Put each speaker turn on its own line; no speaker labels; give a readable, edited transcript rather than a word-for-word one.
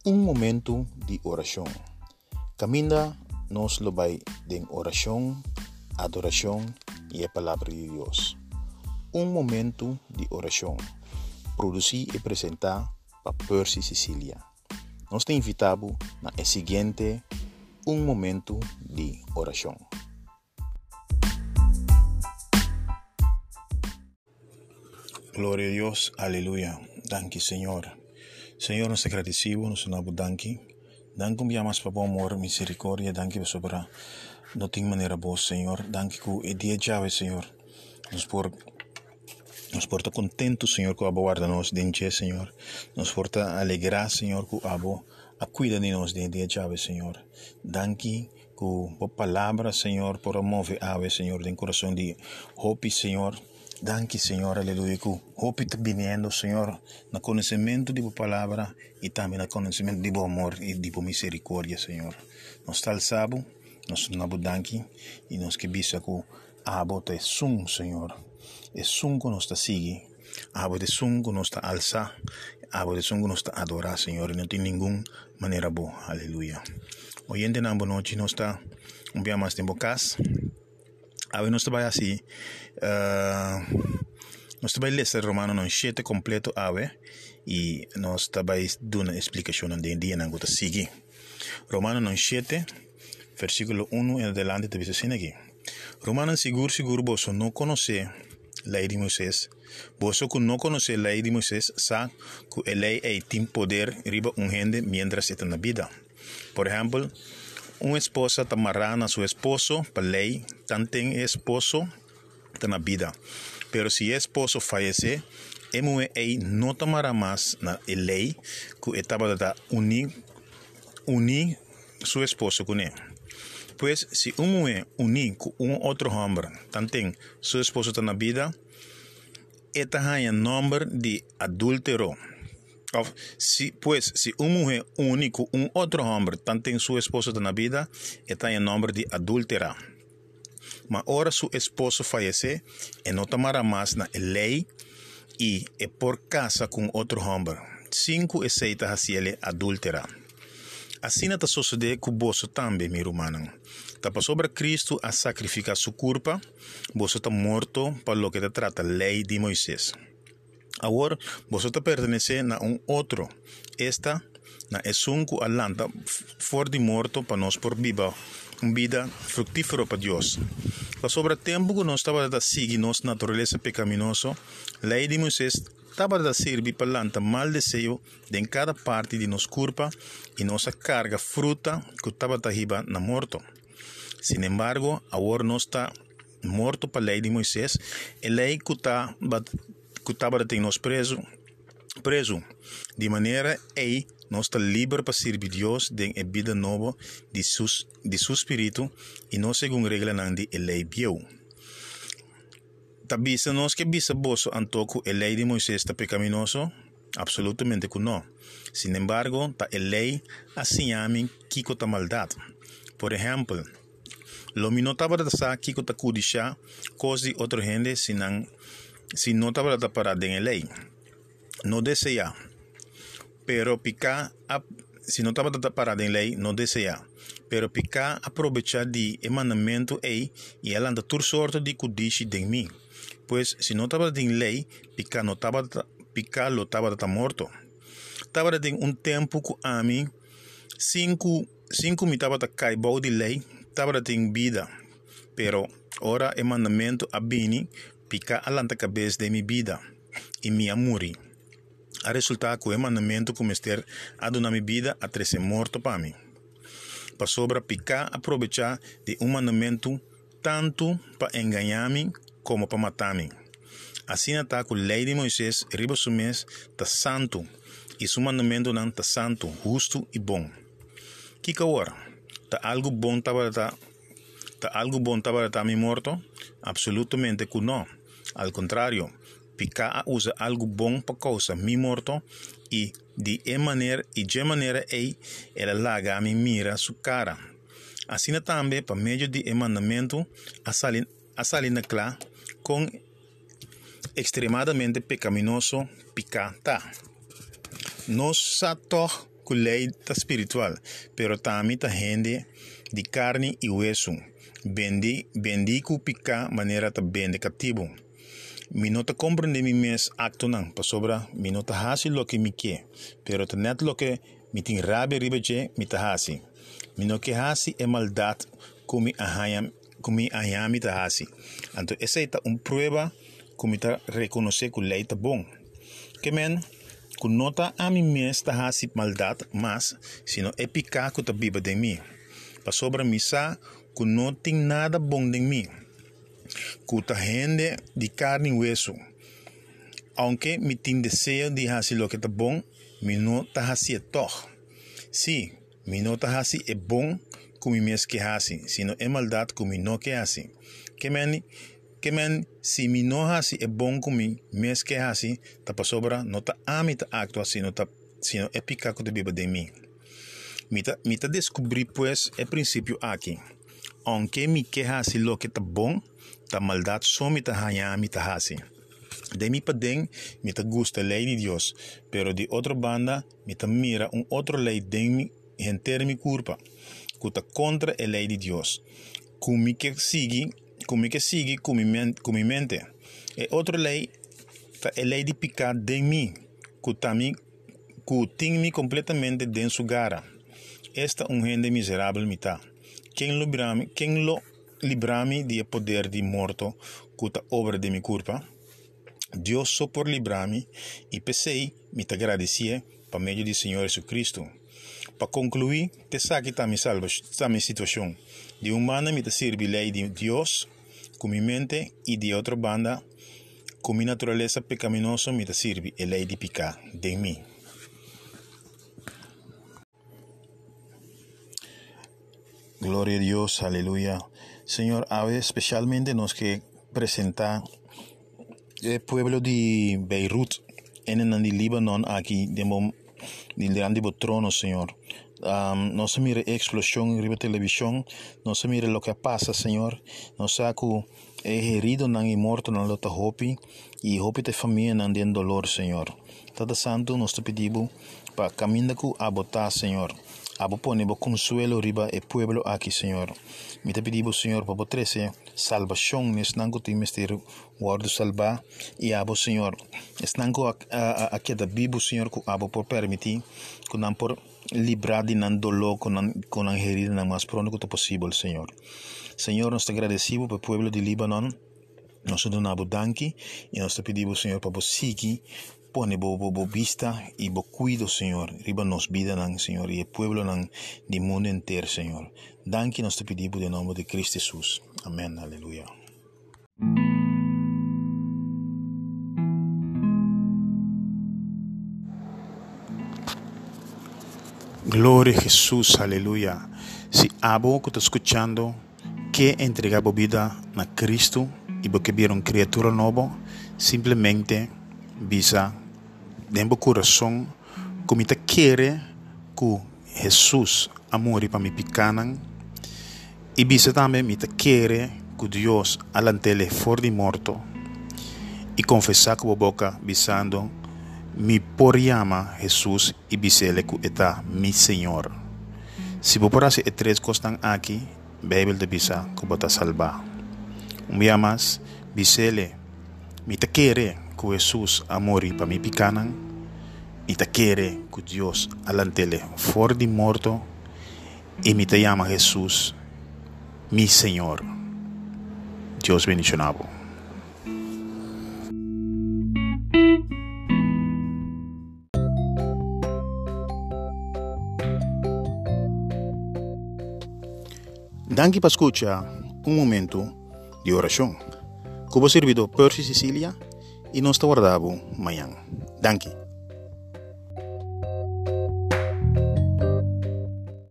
Un momento de oración. Caminda nos lo vai de oración, adoración y la palabra de Dios. Un momento de oración. Produzir y presentar para Percy Sicilia. Nos te invitamos a el siguiente un momento de oración. Gloria a Dios, aleluya. Danke, Señor. Señor, nos agradecemos, nos damos danke. Danke un más por amor, misericordia. Danke sobre no tengo manera vos, Señor. Danke que el día llave, Señor. Nos porta contento, Señor, que guarda-nos de Señor. Nos porta alegrar, Señor, que cuida de nós de dia llave, Señor. Danke por palavra, Señor, por mover ave, Señor, de coração de hope, Señor. Danke, Señor, aleluia, que hope está vindo, Señor, no conhecimento de palavra e também no conhecimento de amor e de misericórdia, Señor. Nós está alçado, nós não danke e nós que bisa que abo te sum, Señor. É sum que nós está seguir, abo de sum que nós está alçar, abo de sum que nós está adorar, Señor, e não tem nenhuma maneira boa, aleluia. Hoje em dia, na noite, nós está dia mais tempo casa. Ave nós trabalha assim, nós trabalha ler Romano não 7 completo ave e nós trabalha dando uma explicação de dia na gota seguir. Romano não 7 versículo 1 em adelante te diz assim aqui. Romano seguro vos não conhece lei de Moisés. Vos que não conhece lei de Moisés sabe que a lei tem poder riba gente mientras está na vida. Por exemplo, uma esposa está amarrada a seu esposo, para lei, também esposo está na vida. Mas se o esposo falece, a mulher não está amarrada mais na lei que estava a unir seu esposo com ele. Pois, se uma mulher unir com outro homem, também seu esposo está na vida, esta é o nome de adúltero. Se uma mulher une com outro homem, tanto seu esposo está na vida, está em nome de adúltera. Mas ora seu esposo falece, e não tomará mais na lei e é por casa com outro homem. 5 aceita a ser adúltera. Assim está sucedendo com você também, meu irmão. Está sobre Cristo a sacrificar sua culpa, você está morto para o que te trata a lei de Moisés. Agora, você pertence a outro. Esta é um que alanta fora de morto para nós por viva uma vida fructífera para Deus. Para sobre o tempo que nós estávamos a seguir nossa natureza pecaminosa, a lei de Moisés estava a servir para lançar mal desejo de cada parte de nossa culpa e nossa carga fruta que estava a riba na morto. Sin embargo, agora nós está morto para a lei de Moisés, a lei que estava a ter nos preso, de maneira que nós está livre para servir Deus de a vida nova de seu espírito e não segundo regra de a lei biu. Tabisa nós que bisa boso antoco a lei de Moisés está pecaminoso? Absolutamente que não. Sin embargo, tá a lei assim a mim que está maldade. Por exemplo, lo mi no estaba a sa que está cudisha coisa de outra gente se não estava a parar de lei. Não deseja. Pero picar se não estava a parar de lei, não deseja. Pero picar aproveitar de mandamento e ela anda por sorte de cudiche de mim. Pois se não estava de lei, picar não estava lo estava morto. Estava de tempo que a mim 5 me estava a cair de lei. Estava em vida, pero ora o mandamento a bini pica alanta cabeça de minha vida e me amuri. A resultar que o mandamento começar a donar minha vida a ser morto para mim. Para sobra picar aproveitar de mandamento tanto para enganar-me como para matar-me. Assim está que a lei de Moisés riba sumés está santo e seu mandamento não está santo, justo e bom. Que agora? Algo bom estava a me morto? Absolutamente que não. Al contrário, picar usa algo bom para causa me morto e de maneira ela larga a me mira sua cara. Assim também, para meio de mandamento, a salina clara com extremadamente pecaminoso picar tá. Nós só com lei espiritual, pero também ta gente de carne e hueso. Bendi ku pica maneira ta bende cativo. Mi no te comprende mi mes acto nan, pa sobra mi no te hasi lo que mi ke, pero te net lo que mi tin rabe ribeje mi te hasi. Mi no que hasi e maldad kumi ahayam mi te hasi. Anto esa ita prueba kumi ta reconoce ku lei ta bon. Que men, ku nota a mi mes ta hasi maldad mas, sino e pica ku ta biba de mi. Pa sobra mi sa ku no ting nada bon de mi. Kuta gente de carne y hueso. Aunque mi tin deseo de hacer lo que está bon, mi no ta hasi toch. Sí, mi no ta hasi es bon como mi mes que hasi, sino es maldad como mi no que hasi. Que men, si mi no hasi es bon como mi mes que hasi, ta pa sobra no ta ami ta actua, sino es picaco de viva de mí. Mi ta descubrí pues el principio aquí. Aunque mi que hasi lo que está bon, ta maldad so mi ta haya mi ta hasi. De mi paden, mi ta gusta ley de Dios, pero de otra banda, mi ta mira otro ley de mi enter mi culpa, que contra la ley de Dios. Kumi que sigue con mi mente. E otra ley, ta ley de picar de mí, que ting mi completamente de su gara. Esta gente miserable mitad. ¿Quién lo librami del poder de muerto, cuta obra de mi culpa? Dios so por librami y pensei, me te agradecí por medio del Señor Jesucristo. Para concluir, te saque mi situación. De una banda me te sirve ley de Dios, con mi mente, y de otra banda, con mi naturaleza pecaminosa me te sirve la ley de picar de mí. Gloria a Dios, aleluya. Señor, a veces especialmente nos que presenta el pueblo de Beirut en el Líbano aquí del grande trono, Señor. No se mire explosión en la televisión, no se mire lo que pasa, Señor. No saco herido y muerto en la hopi y hopi de familia en dolor, Señor. Todo santo nos te pedimos para caminar a botar, Señor. Abo ponemos consuelo riba el pueblo aquí, Señor. Me te pedimos, Señor, para poderse salvación, es nango te mister guardo salva y abo, Señor. Es nango a queda vivo, Señor, que abo por permitir, que nan por librar de nan dolor, con nan herida nan más pronto que posible, Señor. Señor, nos te agradecemos por el pueblo de Líbano. Nos donamos danki y nos te pedimos, Señor, para seguir. Pone bo vista y bo cuido, Señor. Riba nos vida, Señor, y el pueblo del mundo entero, Señor. Danke nos te pedimos en nombre de Cristo Jesús. Amén, aleluya. Gloria a Jesús, aleluya. Si abo que está escuchando, que entregaba vida a Cristo y porque vieron criatura nueva, simplemente visa de mi corazón, como te quiere que Jesús amore para mi picanan, y visa también me te quiere que Dios alantele for de muerto, y confesar con boca visando mi por llama Jesús y visele que está mi Señor. Si vos por hacer tres cosas aquí, Biblia de visa que vos te salva. Un día más, visele, me te quiere que Jesús amore para mi picanan, y te quiere que Dios alantele for de muerto, y me te llama Jesús, mi Señor. Dios bendicionado. Danke por escuchar un momento de oración. Como servido Percy Cecilia y nos guardamos mañana. Danke.